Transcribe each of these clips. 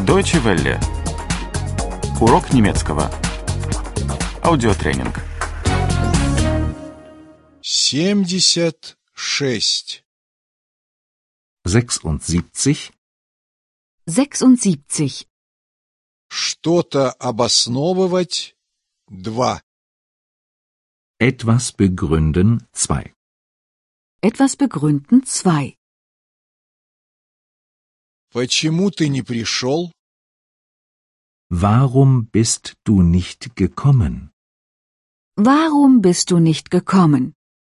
Deutsche Welle. Урок немецкого. Аудиотренинг. 76. 76. 76. Что-то обосновывать. 2. Etwas begründen 2. Etwas begründen 2. Почему ты не пришел? Warum bist du nicht gekommen? Warum bist du nicht gekommen?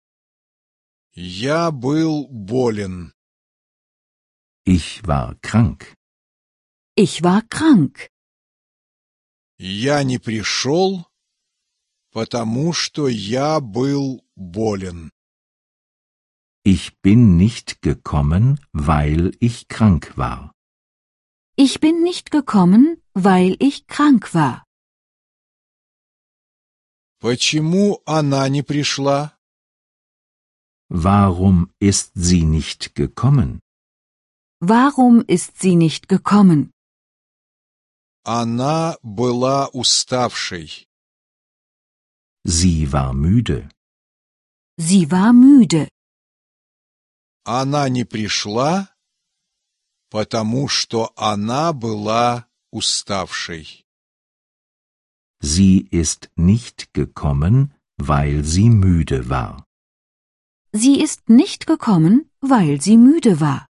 Я был болен. Ich war krank. Ich war krank. Я не пришел, потому что я был болен. Ich bin nicht gekommen, weil ich krank war. Ich bin nicht gekommen, weil ich krank war. Почему она не пришла? Warum ist sie nicht gekommen? Warum ist sie nicht gekommen? Она была уставшей. Sie war müde. Sie war müde. Она не пришла, потому что она была уставшей. Sie ist nicht gekommen, weil sie müde war. Sie ist nicht gekommen, weil sie müde war.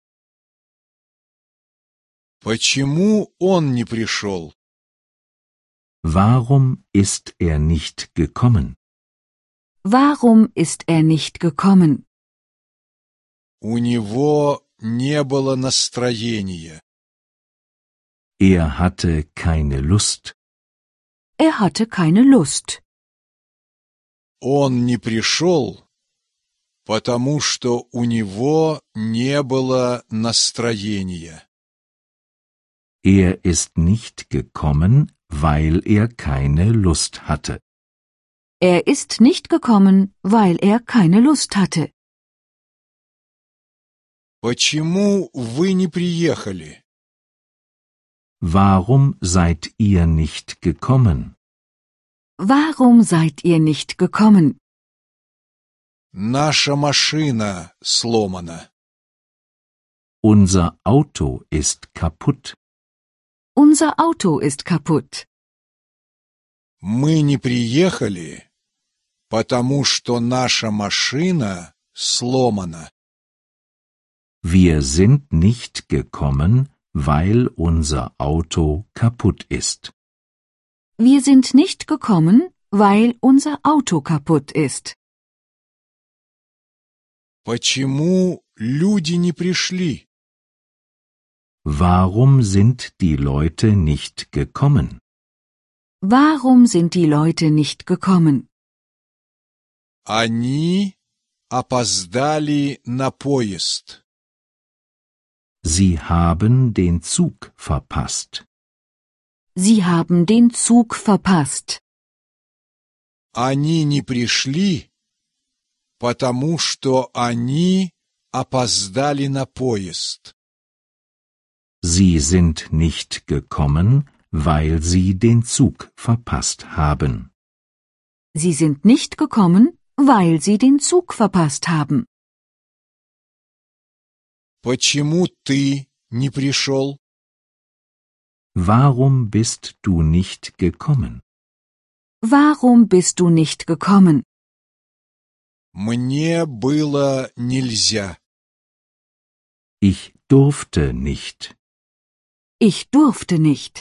Почему он не пришел? Warum ist er nicht gekommen? Warum ist er nicht gekommen? У него не было настроения. Er hatte keine Lust. Er hatte keine Lust. Он не пришел, потому что у него не было настроения. Er ist nicht gekommen, weil er keine Lust hatte. Er ist nicht gekommen, weil er keine Lust hatte. Почему вы не приехали? Warum seid ihr nicht gekommen? Warum seid ihr nicht gekommen? Наша машина сломана. Unser Auto ist kaputt. Unser Auto ist kaputt. Мы не приехали, потому что наша машина сломана. Wir sind nicht gekommen, weil unser Auto kaputt ist. Wir sind nicht gekommen, weil unser Auto kaputt ist. Почему люди не пришли? Warum sind die Leute nicht gekommen? Warum sind die Leute nicht gekommen? Они опоздали на поезд. Sie haben den Zug verpasst. Sie haben den Zug verpasst. Они не пришли, потому что они опоздали на поезд. Sie sind nicht gekommen, weil sie den Zug verpasst haben. Sie sind nicht gekommen, weil sie den Zug verpasst haben. Почему ты не пришел? Warum bist du nicht gekommen? Warum bist du nicht gekommen? Мне было нельзя. Ich durfte nicht. Ich durfte nicht.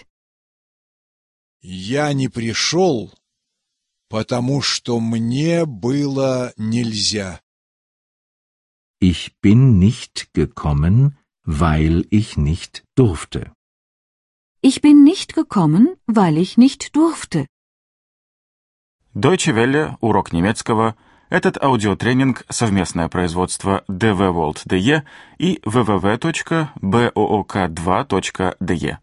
Я не пришел, потому что мне было нельзя. Ich bin nicht gekommen, weil ich nicht durfte. Ich bin nicht gekommen, weil ich nicht durfte. Deutsche Welle. Урок немецкого. Этот аудиотренинг – совместное производство dvworld.de и www.book2.de.